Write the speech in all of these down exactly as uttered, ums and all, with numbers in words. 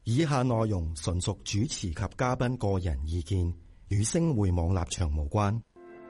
以下內容純屬主持及嘉賓個人意見，與星匯網立場無關。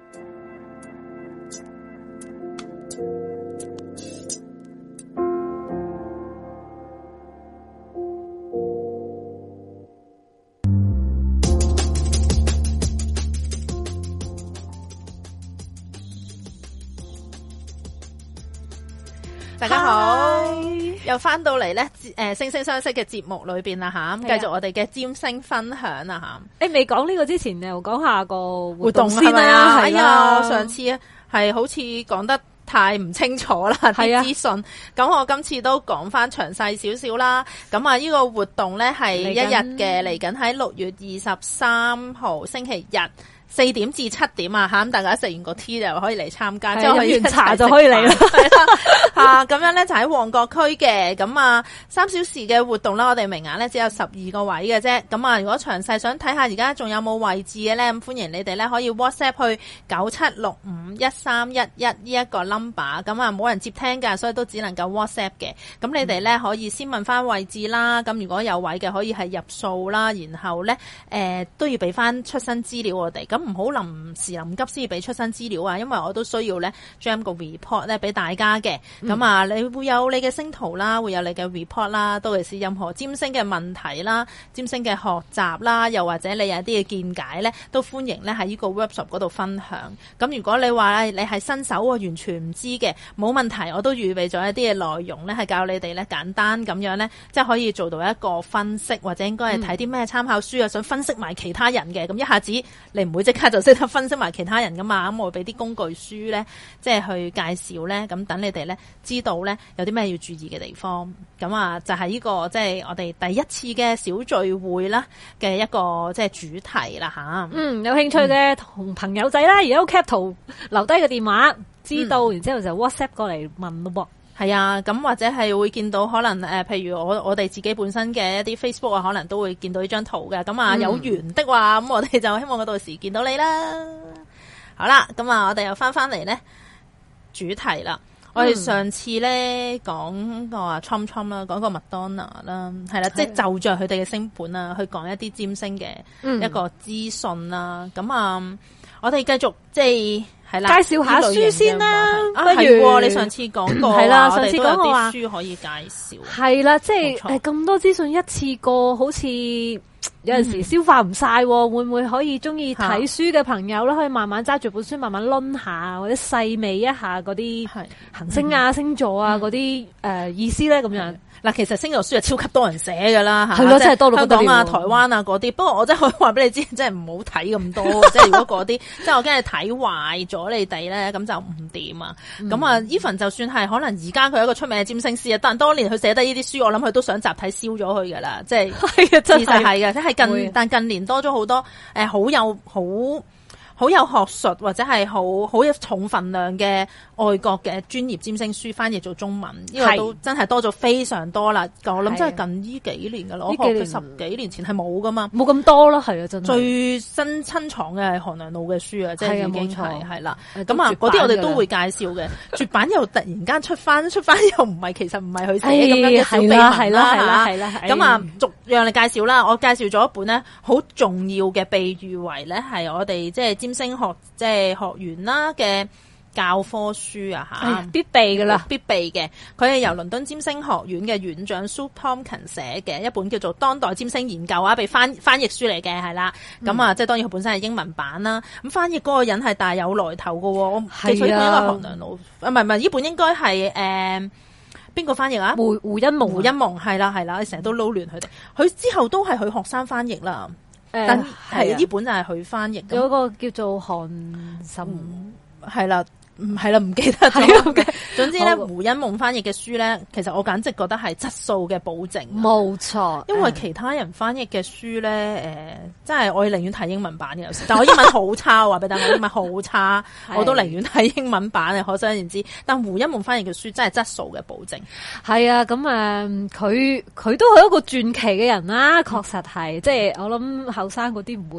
大家好，又翻到嚟咧，誒，惺惺相惜嘅節目裏邊啦吓，咁繼續我哋嘅占星分享啦吓。 誒，未講呢個之前，又講下個活動先啦。哎呀，我上次係好似講得太唔清楚啦啲資訊，咁我今次都講翻詳細少少啦。咁啊，呢個活動咧係一日嘅，嚟緊喺六月二十三號星期日。四點至七點啊，吓，咁大家食完個 tea 就可以嚟參加，即係飲完茶就可以嚟啦。吓，咁樣咧就喺旺角區嘅，咁啊三小時嘅活動啦，我哋名額咧只有十二個位嘅啫。咁啊，如果詳細想睇下而家仲有冇位置嘅咧，咁歡迎你哋咧可以 WhatsApp 去九七六五一三一一呢一個 number。咁啊冇人接聽噶，所以都只能夠 WhatsApp 嘅。咁你哋咧可以先問翻位置啦。咁如果有位嘅，可以係入數啦，然後咧誒、呃、都要俾翻出生資料我哋。咁唔好臨時臨急先俾出生資料啊，因為我都需要咧將個 report 咧俾大家嘅。咁、嗯、啊，你會有你嘅星圖啦，會有你嘅 report 啦，都係任何占星嘅問題啦、占星嘅學習啦，又或者你有啲嘅見解咧，都歡迎咧喺呢個 workshop 嗰度分享。咁如果你話你係新手，我完全唔知嘅，冇問題，我都預備咗一啲嘅內容咧，係教你哋咧簡單咁樣咧，即係可以做到一個分析，或者應該係睇啲咩參考書啊、嗯，想分析埋其他人嘅。咁一下子你唔會即刻就識得分析埋其他人噶嘛，咁我會俾啲工具書咧，即係去介紹咧，咁等你哋咧知道咧有啲咩要注意嘅地方。咁啊，就係呢個即係我哋第一次嘅小聚會啦嘅一個即係主題啦吓。 嗯，有興趣嘅同朋友仔啦，而家 cap 圖留低個電話，知道、嗯、然之後就 WhatsApp 過嚟問咯噃。 係啊，咁或者係會見到可能誒、呃，譬如我我哋自己本身嘅一啲 Facebook 啊，可能都會見到呢張圖嘅。咁啊，有緣的話，咁、嗯、我哋就希望我到時見到你啦。好啦，咁啊，我哋又翻翻嚟咧主題啦。我哋上次咧講個啊 Trump Trump 啦，講個麥當娜啦，係啦，即係就着佢哋嘅星盤啊，去講一啲占星嘅一個資訊啦。咁、嗯、啊，我哋繼續即係。係啦，介紹下書先啦。 啊，係、啊、 你上次講過， 係啦，上次講過話書可以介紹。 係啦，即係誒咁多資訊一次過，好似有陣時消化唔晒、嗯，會唔會可以中意睇書嘅朋友咧，可以慢慢揸住本書，慢慢掄下，或者細味一下嗰啲行星啊、嗯、星座啊嗰啲誒意思咧，咁樣。 嗱，其實星座書係超級多人寫噶啦， 係咯，真係多到香港啊、台灣啊嗰啲。不過我真係可以話俾你知，真係唔好睇咁多。即係如果嗰啲，即係我驚你睇壞咗你哋咧，咁就唔掂啊。咁、嗯、啊 ，even 就算係可能而家佢係一個出名嘅占星師啊，但當年佢寫得呢啲書，我諗佢都想集體燒咗佢噶啦。即係係啊，真係係嘅，即係近但近年多咗好多誒，好、呃、有好。好有學術或者係好好有重分量嘅外國嘅專業占星書翻譯做中文，呢、這個都真係多咗非常多啦。我諗真係近呢幾年噶啦，我學佢十幾年前係冇噶嘛， 冇咁多啦，係啊，真係最新親藏嘅係韓良露嘅書啊，即係已經係係啦。咁啊，嗰啲我哋都會介紹嘅。絕版又突然間出翻，出翻又唔係，其實唔係佢寫咁樣嘅小秘密啦，係啦，係啦，係啦。咁啊，逐樣嚟介紹啦。我介紹咗一本咧，好重要嘅，被譽為咧係我哋即係占星學即係學員啦嘅教科書啊吓， 必備噶啦， 必備嘅。佢係由倫敦占星學院嘅院長 Sue Tomkin 寫嘅一本叫做《當代占星研究》啊，被翻翻譯書嚟嘅係啦。咁、嗯、啊，即係當然佢本身係英文版啦。咁翻譯嗰個人係大有來頭噶，我記錯呢本應該係韓良露，啊唔係唔係呢本應該係誒邊個翻譯啊？胡胡因夢，胡因夢係啦係啦，你成日都撈亂佢哋。佢之後都係佢學生翻譯啦。誒，但係呢本就係佢翻譯嘅， 有個叫做韓沈， 係啦。唔係啦，唔記得咗嘅。總之咧，胡因夢翻譯嘅書咧，其實我簡直覺得係質素嘅保證。 冇錯， 因為其他人翻譯嘅書咧，誒、呃，真係我寧願睇英文版嘅有時。但我英文好差，話俾大家，我英文好差，我都寧願睇英文版嘅。可想而知，但胡因夢翻譯嘅書真係質素嘅保證。 係啊，咁誒，佢、呃、佢都係一個傳奇嘅人啦，確實係。即係我諗後生嗰啲唔會識。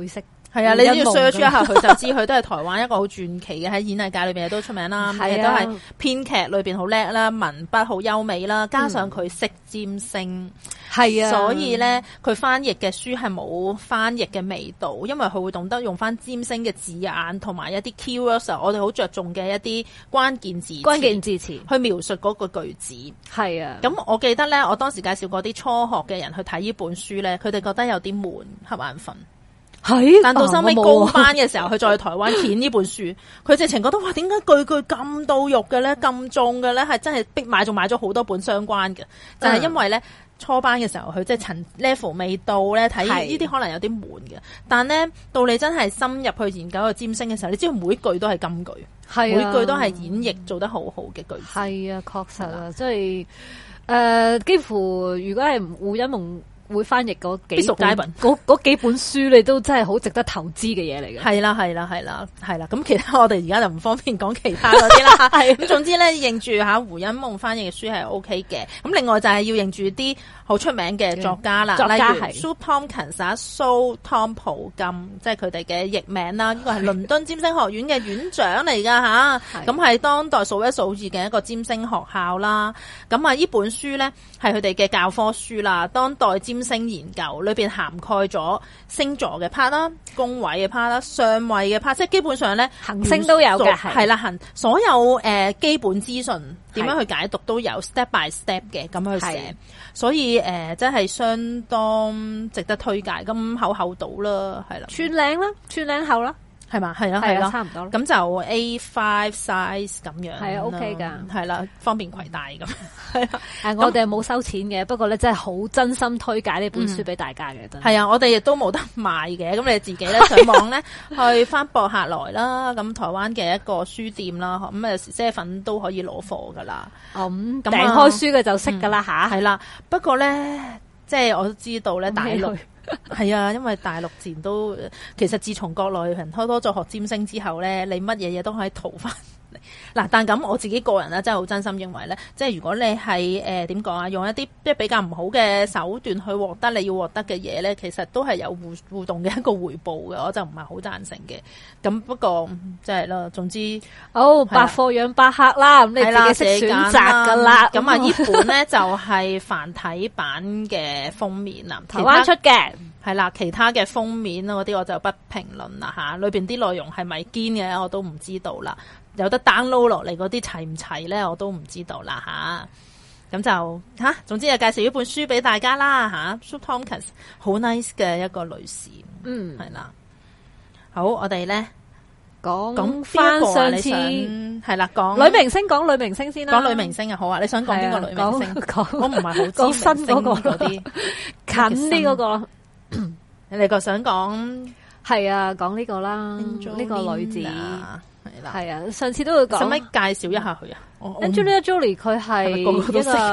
係啊，你只要 search 一下佢就知，佢都係台灣一個好傳奇嘅，喺演藝界裏邊都出名啦，亦都係編劇裏邊好叻啦，文筆好優美啦，加上佢識占星，係、嗯、啊，所以咧佢翻譯嘅書係冇翻譯嘅味道，因為佢會懂得用翻占星嘅字眼同埋一啲 keywords， 我哋好着重嘅一啲關鍵字關鍵字詞去描述嗰個句子。係啊，咁我記得咧，我當時介紹過啲初學嘅人去睇呢本書咧，佢哋覺得有啲悶，瞌眼瞓。係，但到收尾高班嘅時候，佢、啊、再去台灣揀呢本書，佢直情覺得哇，點解句句咁到肉嘅咧，咁重嘅咧，係真係逼買，仲買咗好多本相關嘅，就係、是、因為咧初班嘅時候，佢即係層 level 未到咧，睇呢啲可能有啲悶嘅，但咧到你真係深入去研究個占星嘅時候，你知道每句都係金句，係、啊、每句都係演繹做得好好嘅句子。係啊，確實啊，即係誒，幾乎如果係胡因夢會翻譯嗰幾本嗰嗰幾本書，你都真係好值得投資嘅嘢嚟嘅。係啦，係啦，係啦，係啦。咁其他我哋而家就唔方便講其他嗰啲啦。係咁，總之咧認住吓胡因夢翻譯嘅書係 O K 嘅。咁另外就係要認住啲好出名嘅作家啦，作家例如 Sue Tomkins 啊 Sue Tom 普金，即係佢哋嘅譯名啦。呢個係倫敦占星學院嘅院長嚟噶吓，咁係當代數一數二嘅一個占星學校啦。咁啊，呢本書咧係佢哋嘅教科書啦，當代占星研究裏邊涵蓋咗星座嘅 part 啦、宮位嘅 part 啦、相位嘅 part， 即係基本上咧行星都有嘅，係啦，行所有誒、呃、基本資訊點樣去解讀都有 step by step 嘅咁去寫，所以誒、呃、真係相當值得推介，咁厚厚到啦，係啦，寸領啦，寸領厚啦。係嘛，係啦，係啦，差唔多。咁就 A 五 size 咁樣，係啊 ，OK 噶，係啦，方便攜帶咁。係啊，誒，我哋冇收錢嘅，不過咧真係好真心推介呢本書俾大家嘅，真係。係啊，我哋亦都冇得賣嘅，咁你自己咧上網咧去翻博客來啦，咁台灣嘅一個書店啦，咁啊些粉都可以攞貨噶啦。哦，咁訂開書嘅就識噶啦吓。係啦，不過咧，即係我都知道咧，大陸。係啊，因為大陸自然都其實自從國內人開多咗學占星之後咧，你乜嘢嘢都可以淘翻嚟。嗱，但咁我自己個人咧，真係好真心認為咧，即係如果你係誒點講啊，用一啲即係比較唔好嘅手段去獲得你要獲得嘅嘢咧，其實都係有互互動嘅一個回報嘅，我就唔係好贊成嘅。咁不過即係啦，總之哦，百貨養百客啦，咁你自己識選擇噶啦。咁啊，呢本咧就係繁體版嘅封面啦，台灣出嘅。係啦，其他嘅封面嗰啲我就不評論啦吓，裏邊啲內容係咪堅嘅我都唔知道啦，有得 download 落嚟嗰啲齊唔齊咧我都唔知道啦吓，咁就吓，總之就介紹呢本書俾大家啦吓 Sue Tomkins 好 nice 嘅一個女士，嗯，係啦，好，我哋咧講講翻上次係啦，講女明星，講女明星先啦，講女明星啊，好啊，你想講邊個女明星？我唔係好知新嗰個嗰啲近啲嗰個。你哋個想講係啊，講呢個啦，呢個女子係啦，係啊，上次都會講，使唔使介紹一下佢啊 ？Angelina Jolie 佢係一個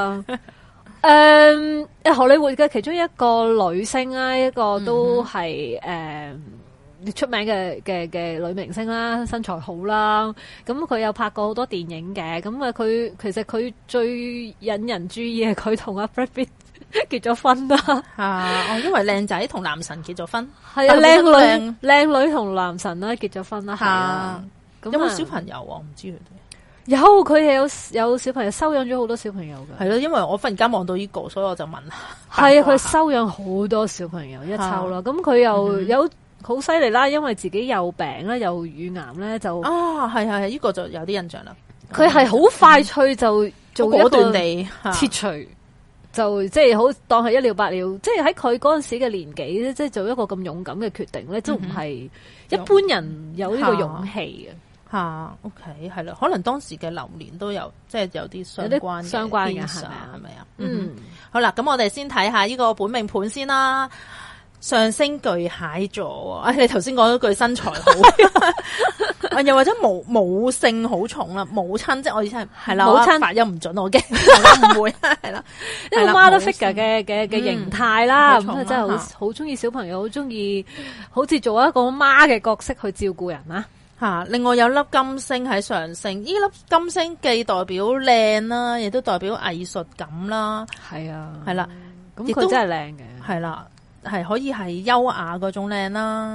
誒荷里活嘅其中一個女星啦，一個都係誒、嗯呃、出名嘅嘅嘅女明星啦，身材好啦，咁佢有拍過好多電影嘅，咁啊佢其實佢最引人注意係佢同阿 Brad Pitt結咗婚啦，啊！哦，因為靚仔同男神結咗婚，係啊，靚女靚女同男神啦結咗婚啦，係啊。有冇小朋友啊？我唔知佢哋有，佢係有有小朋友，收養咗好多小朋友嘅。係咯，因為我忽然間望到呢個，所以我就問下。係啊，佢收養好多小朋友一抽啦，咁佢又有好犀利啦，因為自己有病啦，有乳癌咧就啊，係係係，呢個就有啲印象啦。佢係好快脆就做果斷地切除。就即係好當係一了百了，即係喺佢嗰陣時嘅年紀咧，即係做一個咁勇敢嘅決定咧，都唔係一般人有呢個勇氣嘅吓。OK， 係啦，可能當時嘅流年都有，即係有啲相關相關嘅係咪啊？係咪啊？嗯，好啦，咁我哋先睇下呢個本命盤先啦。上升巨蟹座，哎，你頭先講咗句身材好，又或者母母性好重啦，母親即係我意思係係啦，母親發音唔準，我驚唔會係啦，一個 mother figure 嘅嘅嘅形態啦，咁啊真係好好中意小朋友，好中意好似做一個媽嘅角色去照顧人啦吓。另外有粒金星喺上升，呢粒金星既代表靚啦，亦都代表藝術感啦，係啊，係啦，咁佢真係靚嘅，係啦。係可以係優雅嗰種靚啦，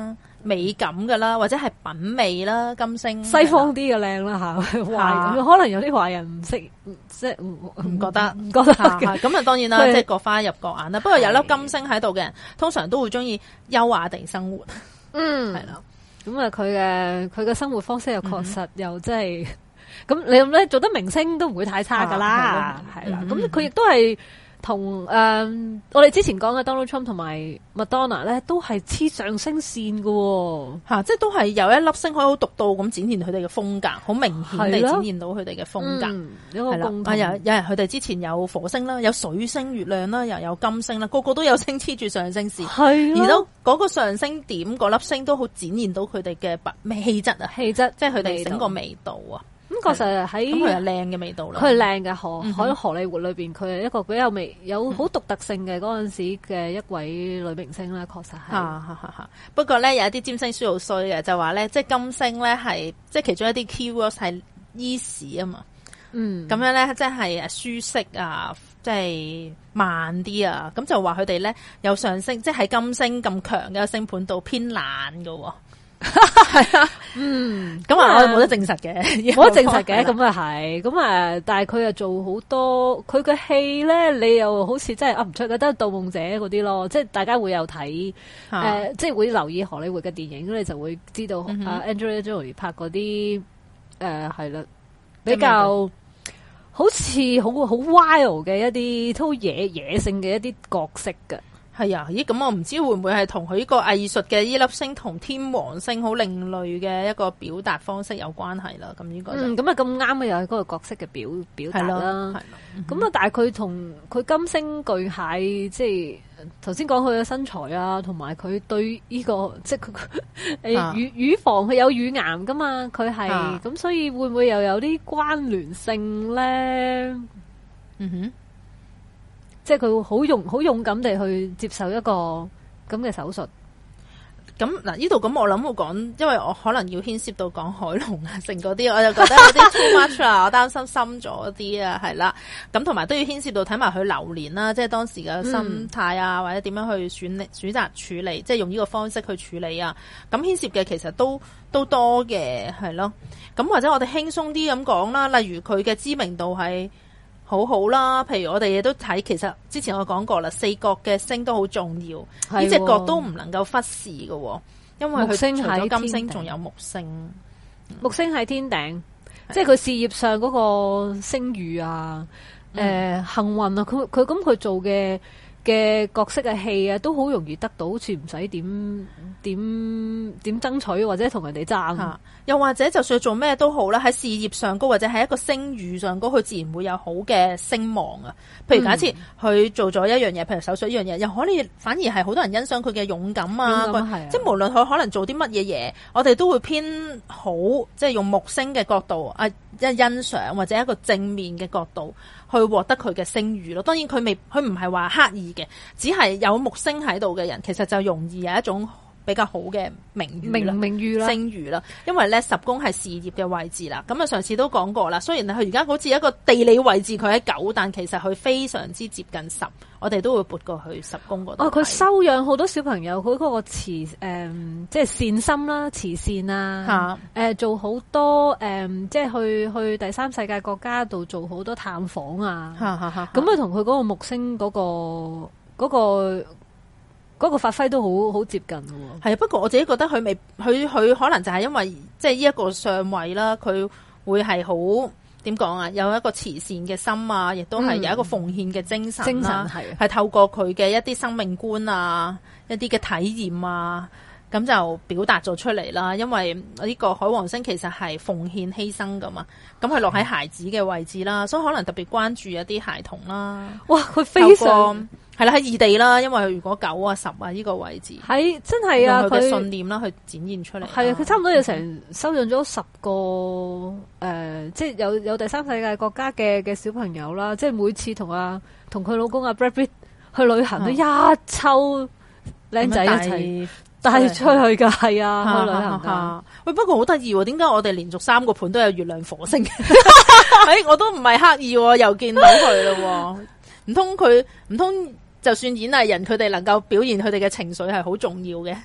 美感噶啦，或者係品味啦，金星西方啲嘅靚啦吓，壞可能有啲華人唔識，即係唔唔覺得唔覺得咁啊，當然啦，即係各花入各眼啦。不過有粒金星喺度嘅人，通常都會中意優雅地生活。嗯，係啦。 咁啊，佢嘅佢嘅生活方式又確實又真係，咁、嗯、你咧做得明星都唔會太差噶啦，係啦。咁佢亦都係。同誒、呃，我哋之前講嘅 Donald Trump 同埋麥當娜咧，都係黐上升線嘅喎， 嚇，即係都係有一粒星可以好獨到咁展現佢哋嘅風格，好明顯地展現到佢哋嘅風格。係啦、嗯，啊有有人佢哋之前有火星啦，有水星、月亮啦，又有金星啦，個個都有星黐住上升線，係而都嗰個上升點嗰粒星都好展現到佢哋嘅咩氣質啊，氣質，即係佢哋整個味道啊。 咁確實喺咁佢係靚嘅味道啦， 佢係靚嘅荷喺荷里活裏邊，佢係一個比較味有好獨特性嘅嗰陣時嘅一位女明星啦，確實係。 嚇嚇嚇！不過咧有一啲占星書好衰嘅，就話咧即係金星咧係即係其中一啲 keywords 係 easy 啊嘛，嗯，咁樣咧即係舒適啊，即係慢啲啊，咁就話佢哋咧有上升，即係喺金星咁強嘅星盤度偏懶㗎喎。係啊，嗯，咁啊，我冇得證實嘅， 冇得證實嘅，咁啊係，咁啊，但係佢又做好多，佢嘅戲咧，你又好似真係噏唔出，覺得盜夢者嗰啲咯，即係大家會有睇，誒、啊呃，即係會留意荷里活嘅電影，咁你就會知道、嗯、啊 Angelina Jolie 拍嗰啲，誒、呃，係啦，比較好似好好 wild 嘅一啲，都野野性嘅一啲角色㗎。 係啊，咦？咁我唔知會唔會係同佢呢個藝術嘅呢粒星同天王星好另類嘅一個表達方式有關係啦。咁呢個嗯， 咁啊咁啱嘅又係嗰個角色嘅表表達啦。係咯，咁啊，但係佢同佢金星巨蟹，即係頭先講佢嘅身材啊，同埋佢對呢個即係佢誒乳乳房佢有乳癌噶嘛，佢係咁，所以會唔會又有啲關聯性咧？嗯哼。即係佢會好勇好勇敢地去接受一個咁嘅手術。 咁嗱，呢度咁我諗會講，因為我可能要牽涉到講海龍啊，成嗰啲，我就覺得有啲 too much 啦，我擔心深咗啲啊，係啦。咁同埋都要牽涉到睇埋佢流年啦，即係當時嘅心態啊，嗯、或者點樣去選選擇處理，即係用呢個方式去處理啊。咁牽涉嘅其實都都多嘅，係咯。咁或者我哋輕鬆啲咁講啦，例如佢嘅知名度係好好啦，譬如我哋亦都睇，其實之前我講過啦，四角嘅星都好重要，呢隻角都唔能夠忽視嘅，因為佢除咗金星仲有木星， 木星喺天頂，即係佢事業上嗰個聲譽啊，誒、嗯呃、幸運啊，佢佢咁佢做嘅嘅角色嘅戲啊，都好容易得到，好似唔使點點點爭取或者同人哋爭， 又或者就算做咩都好啦，喺事業上高或者喺一個聲譽上高，佢自然會有好嘅聲望啊。譬如假設佢做咗一樣嘢，譬如手術一樣嘢，又可能反而係好多人欣賞佢嘅勇敢啊， 勇敢啊， 即係無論佢可能做啲乜嘢嘢，我哋都會偏好，即係用木星嘅角度啊，一欣賞或者一個正面嘅角度去獲得佢嘅聲譽咯。當然佢未，佢唔係話刻意嘅，只係有木星喺度嘅人，其實就容易有一種比較好嘅名譽名名譽啦， 聲譽啦。因為咧十宮係事業嘅位置啦。咁啊上次都講過啦，雖然佢而家好似一個地理位置佢喺九，但其實佢非常之接近十。我哋都會撥過去十宮嗰度。哦， 佢收養好多小朋友，佢嗰個慈誒、嗯，即係善心啦，慈善啊，誒、呃、做好多誒、嗯，即係去去第三世界國家度做好多探訪啊。咁啊，同佢嗰個木星嗰、嗰個嗰、嗰個。嗰、那個發揮都好好接近喎。 係啊，不過我自己覺得佢未，佢佢可能就係因為即係呢一個相位啦，佢會係好點講啊？有一個慈善嘅心啊，亦都係有一個奉獻嘅精神、啊嗯、精神係係透過佢嘅一啲生命觀啊，一啲嘅體驗啊，咁就表達咗出嚟啦。因為呢個海王星其實係奉獻犧牲噶嘛，咁佢落喺孩子嘅位置啦，所以可能特別關注一啲孩童啦。 哇，佢非常。 係啦，喺異地啦，因為如果九啊十啊呢個位置， 係真係啊， 佢嘅信念啦，去展現出嚟。 係啊，佢差唔多有成收養咗十個誒、呃，即係有有第三世界國家嘅嘅小朋友啦。即係每次同啊同佢老公阿 Brad Pitt 去旅行都一抽靚仔一齊帶出去噶，係啊，去旅行噶。 喂，不過好得意喎，點解我哋連續三個盤都有月亮火星？誒，我都唔係刻意，又見到佢咯。唔通佢唔通？就算演藝人佢哋能夠表現佢哋嘅情緒係好重要嘅，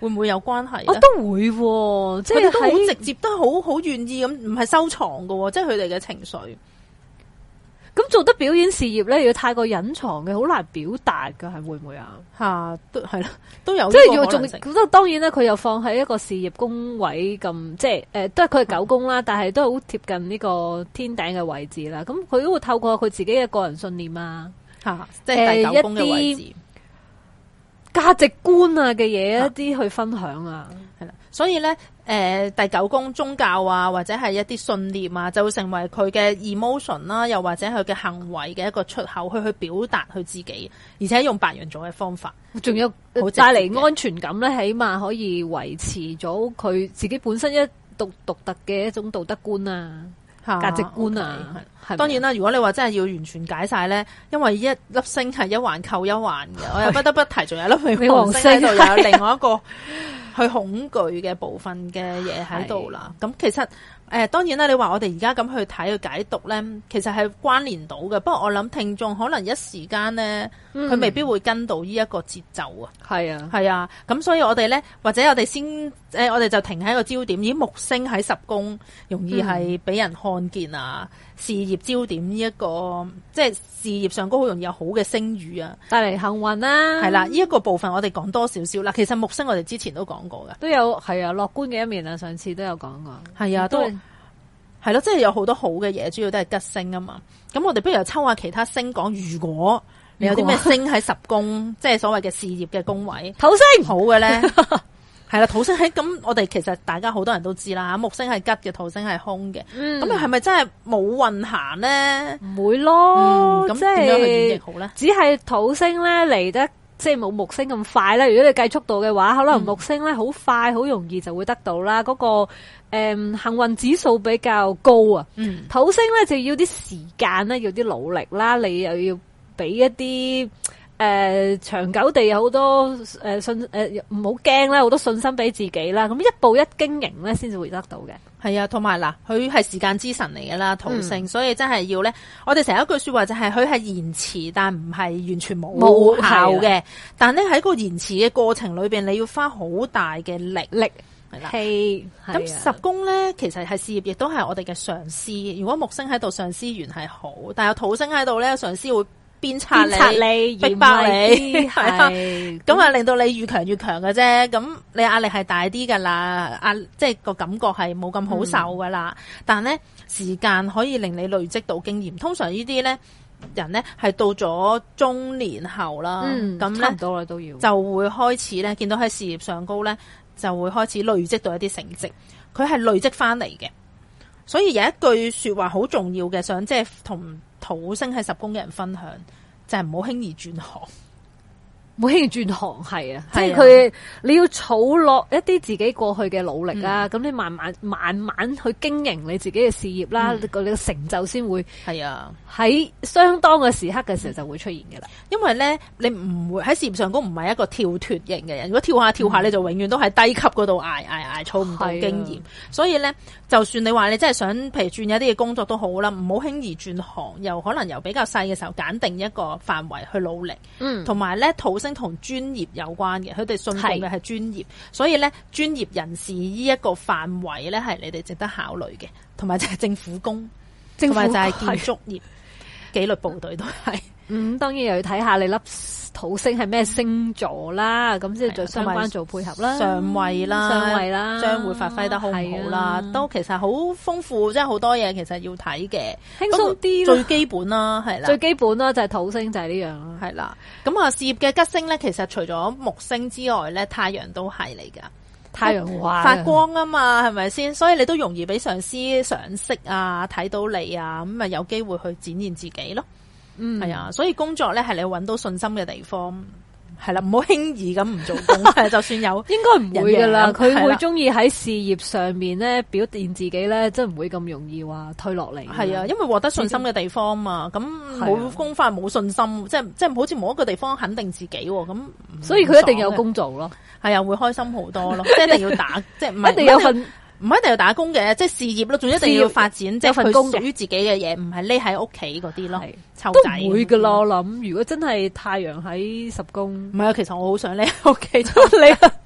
會唔會有關係？ 我都會、啊，即係都好直接，都好好願意咁，唔係收藏喎，即係佢哋嘅情緒。 咁做得表演事業咧，要太過隱藏嘅，好難表達噶，係會唔會啊？ 吓，都係啦，都有即係要仲，咁當然咧，佢又放喺一個事業宮位咁，即係誒、呃，都係佢係九宮啦，但係都係好貼近呢個天頂嘅位置啦。咁佢都會透過佢自己嘅個人信念啊，吓， 即係第九宮嘅位置， 價值觀啊嘅嘢一啲去分享啊， 係啦。所以咧，誒、呃，第九宮宗教啊，或者係一啲信念啊，就會成為佢嘅 emotion 啦，又或者佢嘅行為嘅一個出口，去去表達佢自己，而且用白羊座嘅方法， 仲有帶嚟安全感咧，起碼可以維持咗佢自己本身一獨獨特嘅一種道德觀啊、價值觀啊。 Okay, 當然啦，如果你話真係要完全解晒咧，因為一粒星係一環扣一環嘅，我又不得不提，仲有一粒冥王星喺度，又有另外一個。去恐懼嘅部分嘅嘢喺度啦，咁其實誒、呃、當然啦，你話我哋而家咁去睇去解讀咧，其實係關聯到嘅。不過我諗聽眾可能一時間咧，佢、嗯、未必會跟到呢一個節奏啊。係啊，係啊，咁所以我哋咧，或者我哋先誒、呃，我哋就停喺個焦點。咦，木星喺十宮，容易係俾人看見啊。嗯事業焦點呢、這、一個，即係事業上高好容易有好嘅聲譽啊，帶嚟幸運啦。係啦，呢、這、一個部分我哋講多少少啦。其實木星我哋之前都講過㗎，都有係啊樂觀嘅一面啊。上次都有講過，係啊，都係咯，即係有好多好嘅嘢，主要都係吉星啊嘛。咁我哋不如又抽下其他星講，如果你有啲咩星喺十宮，即係所謂嘅事業嘅宮位，土星好嘅咧。係啦，土星喺咁，我哋其實大家好多人都知啦，木星係吉嘅，土星係凶嘅。咁又係咪真係冇運行咧？唔會咯，咁點樣去演繹好咧？只係土星咧嚟得即係冇木星咁快啦。如果你計速度嘅話，可能木星咧好快，好容易就會得到啦。嗰、那個誒、嗯、幸運指數比較高啊。嗯、土星咧就要啲時間啦，要啲努力啦，你又要俾一啲。誒、呃，長久地有好多誒、呃、信誒，唔好驚啦，好多信心俾自己啦。咁一步一經營咧，先至會得到嘅。係啊，同埋嗱，佢係時間之神嚟嘅啦，土星，嗯、所以真係要咧。我哋成日一句說話就係，佢係延遲，但唔係完全冇效嘅。但咧喺個延遲嘅過程裏邊，你要花好大嘅力力係啦。係咁十宮咧，其實係事業，亦都係我哋嘅上司。如果木星喺度，上司緣係好，但係有土星喺度咧，上司會。鞭策你，逼迫你，係啊，咁啊令到你越強越強嘅啫。咁你壓力係大啲噶啦，壓即係個感覺係冇咁好受噶啦。嗯、但係咧時間可以令你累積到經驗。通常呢啲咧人咧係到咗中年後啦，咁咧、嗯、差唔多啦都要就會開始咧見到喺事業上高咧就會開始累積到一啲成績。佢係累積翻嚟嘅，所以有一句說話好重要嘅，想即係同。土星喺十宮嘅人分享，就係唔好輕易轉行，唔好輕易轉行係啊，即係佢你要儲落一啲自己過去嘅努力啊，咁、嗯、你慢慢慢慢去經營你自己嘅事業啦，你嘅成就先會係啊，喺相當嘅時刻嘅時候就會出現嘅啦。因為咧，你唔會喺事業上高唔係一個跳脫型嘅人，如果跳下跳下，嗯、你就永遠都喺低級嗰度挨挨挨，儲唔到經驗。所以咧，就算你話你真係想，譬如轉一啲嘅工作都好啦，唔好輕易轉行，又可能由比較細嘅時候揀定一個範圍去努力。嗯，同埋咧，土星同專業有關嘅，佢哋信奉嘅係專業，所以咧專業人士呢一個範圍咧係你哋值得考慮嘅，同埋就係政府工，同埋就係建築業、紀律部隊都係。嗯，當然又要睇下你粒土星係咩星座啦，咁即係做相關做配合啦，上位啦，上位啦，將會發揮得好唔好啦，都其實好豐富，即係好多嘢其實要睇嘅，輕鬆啲，最基本啦，係啦，最基本啦就係土星就係呢樣啦，係啦，咁啊事業嘅吉星咧，其實除咗木星之外咧，太陽都係嚟噶，太陽發光啊嘛，係咪先？所以你都容易俾上司賞識啊，睇到你啊，咁啊有機會去展現自己咯。嗯，係啊，所以工作咧係你搵到信心嘅地方，係啦，唔好輕易咁唔做工，係就算有，應該唔會噶啦，佢會中意喺事業上面咧表現自己咧，真唔會咁容易話推落嚟。係啊，因為獲得信心嘅地方嘛，咁冇工返冇信心，即係即係好似冇一個地方肯定自己，咁所以佢一定有工做咯，係啊，會開心好多咯，即係一定要打，即係唔係一定有份。唔一定要打工嘅，即係事業咯，仲一定要發展，即係份工屬於自己嘅嘢，唔係匿喺屋企嗰啲咯。湊仔都唔會噶咯，我諗如果真係太陽喺十宮，唔係啊，其實我好想匿喺屋企湊你。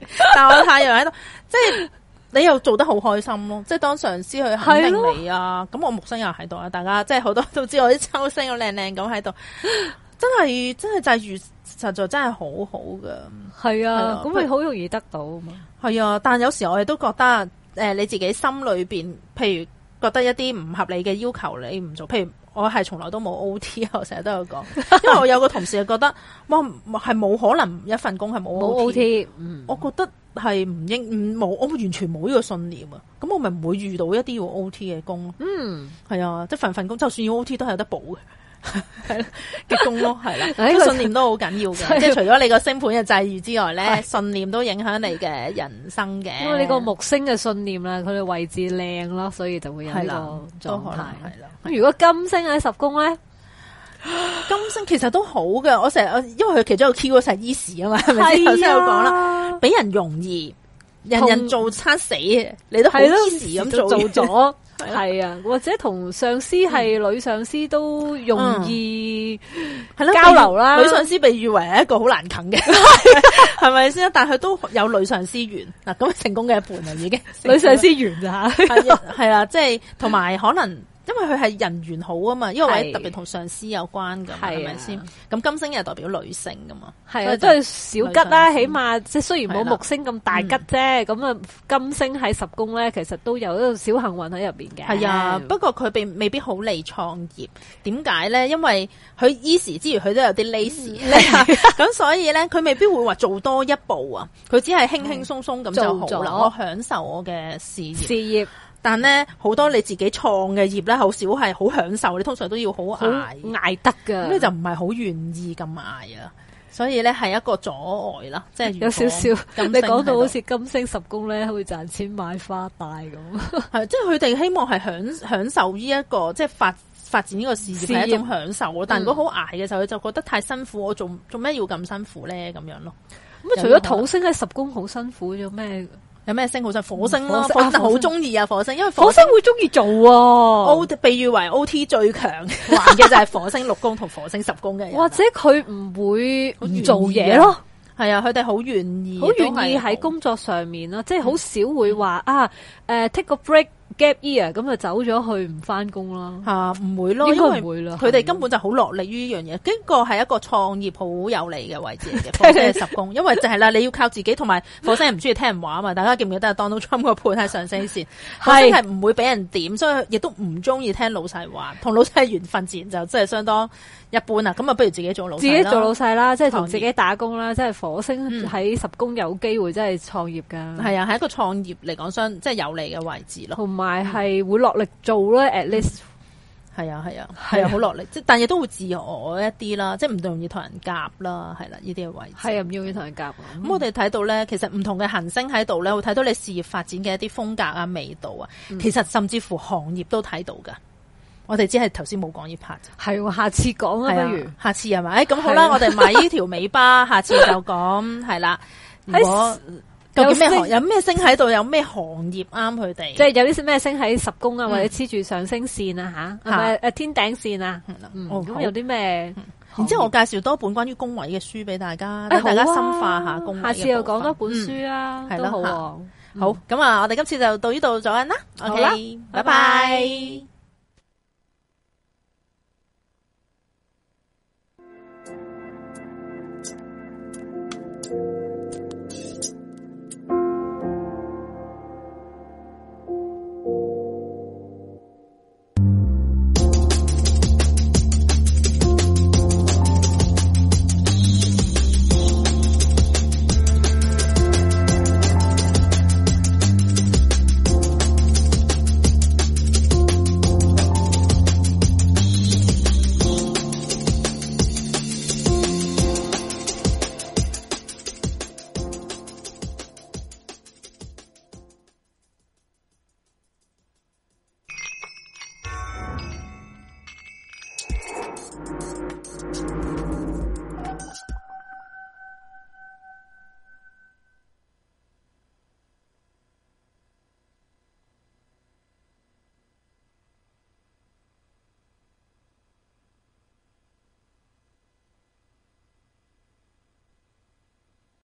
但係我太陽喺度，即係你又做得好開心咯。即係當上司去肯定你啊，咁我木星又喺度啊，大家即係好多都知我啲抽星好靚靚咁喺度，真係真係際遇實在真係好好噶。 係啊，咁咪好容易得到啊嘛。 係啊，但有時我哋都覺得誒、呃，你自己心裏邊，譬如覺得一啲唔合理嘅要求你唔做，譬如我係從來都冇 O T， 我成日都有講，因為我有個同事係覺得哇，係冇可能一份工係冇 O T， 嗯，我覺得係唔應唔冇，我完全冇呢個信念啊，咁我咪唔會遇到一啲要 O T 嘅工咯，嗯，係啊，即係份份工就算要 O T 都係有得補嘅。係啦嘅工咯，係啦，個信念都好緊要嘅，即係除咗你個星盤嘅際遇之外咧，信念都影響你嘅人生嘅。因為你個木星嘅信念啦，佢哋位置靚咯，所以就會有呢個狀態。係啦，咁如果金星喺十宮咧， 金星其實都好嘅。我成日因為佢其中一個 key 嗰係 easy 啊嘛，係咪先？頭先有講啦，俾人容易，人人做餐死，你都好 easy 咁做做咗。係啊，或者同上司係女上司都容易係咯交流啦。 女上司被譽為係一個好難啃嘅，係咪先？但係佢都有女上司緣嗱，咁成功嘅一半啦，已經女上司緣咋吓？ 係啦，即係同埋可能。因為佢係人緣好啊嘛，因為位特別同上司有關噶，係咪先？咁金星又代表女性噶嘛， 係啊，都係小吉啦。起碼即係雖然冇木星咁大吉啫，咁啊、嗯、金星喺十宮咧，其實都有一個小幸運喺入邊嘅。 係啊，不過佢並未必好利創業。點解咧？因為佢 easy 之餘，佢都有啲 lazy，咁所以咧，佢未必會話做多一步啊。佢只係輕輕鬆鬆咁就好啦。我享受我嘅事業。事業。但咧好多你自己創嘅業咧，好少係好享受，你通常都要好捱捱得噶， 咁你就唔係好願意咁捱啊，所以咧係一個阻礙啦，即係有少少。你講到好似金星十宮咧，會賺錢買花帶咁， 係即係佢哋希望係享享受呢、這、一個即係發發展呢個事業係一種享受咯。但如果好捱嘅時候，佢就覺得太辛苦，我做做咩要咁辛苦咧？咁樣咯。 咁啊，除咗土星喺十宮好辛苦，有咩？ 有咩星好就火星咯，火星好中意啊！火星，因為火星會中意做 ，O 被譽為 O T 最強玩嘅就係火星六宮同火星十宮嘅人， 或者佢唔會唔做嘢咯。 係啊，佢哋好願意， 好願意喺工作上面啦，即係好少會話啊，誒 take a break。gap year 咁就走咗去唔翻工啦吓，唔會咯，應該唔會啦。佢哋根本就好落力於呢樣嘢，呢個係一個創業好有利嘅位置嚟嘅。火星係十宮，因為就係啦，你要靠自己，同埋火星係唔中意聽人話啊嘛。大家記唔記得 Donald Trump 個盤係上升線，火星係唔會俾人點，所以亦都唔中意聽老細話，同老細緣分自然就真係相當一般啦。咁啊，不如自己做老細， 自己做老細啦，即係同自己打工啦。即係火星喺十宮有機會真係創業噶， 係啊，係一個創業嚟講相即係有利嘅位置咯， 同埋係會落力做咧 at least 係啊係啊係啊好落力，即係但亦都會自我一啲啦，即係唔容易同人夾啦，係啦呢啲嘅位置係啊唔容易同人夾。咁、 嗯、我哋睇到咧，其實唔同嘅行星喺度咧，會睇到你事業發展嘅一啲風格啊、味道啊，嗯、其實甚至乎行業都睇到噶。我哋只係頭先冇講呢 part， 係下次講啊，不如下次係咪？咁、哎、好啦，我哋買呢條尾巴，下次就講係啦。如果究竟咩行有咩星喺度，有咩行業啱佢哋？ 即係有啲咩星喺十宮啊，或者黐住上升線啊，吓係咪誒天頂線啊？嗯，咁有啲咩？ 然之後我介紹多本關於宮位嘅書俾大家，等大家深化下宮位。 下次又講多本書啊， 係咯， 好。好，咁啊，我哋今次就到呢度咗啦。OK，拜拜。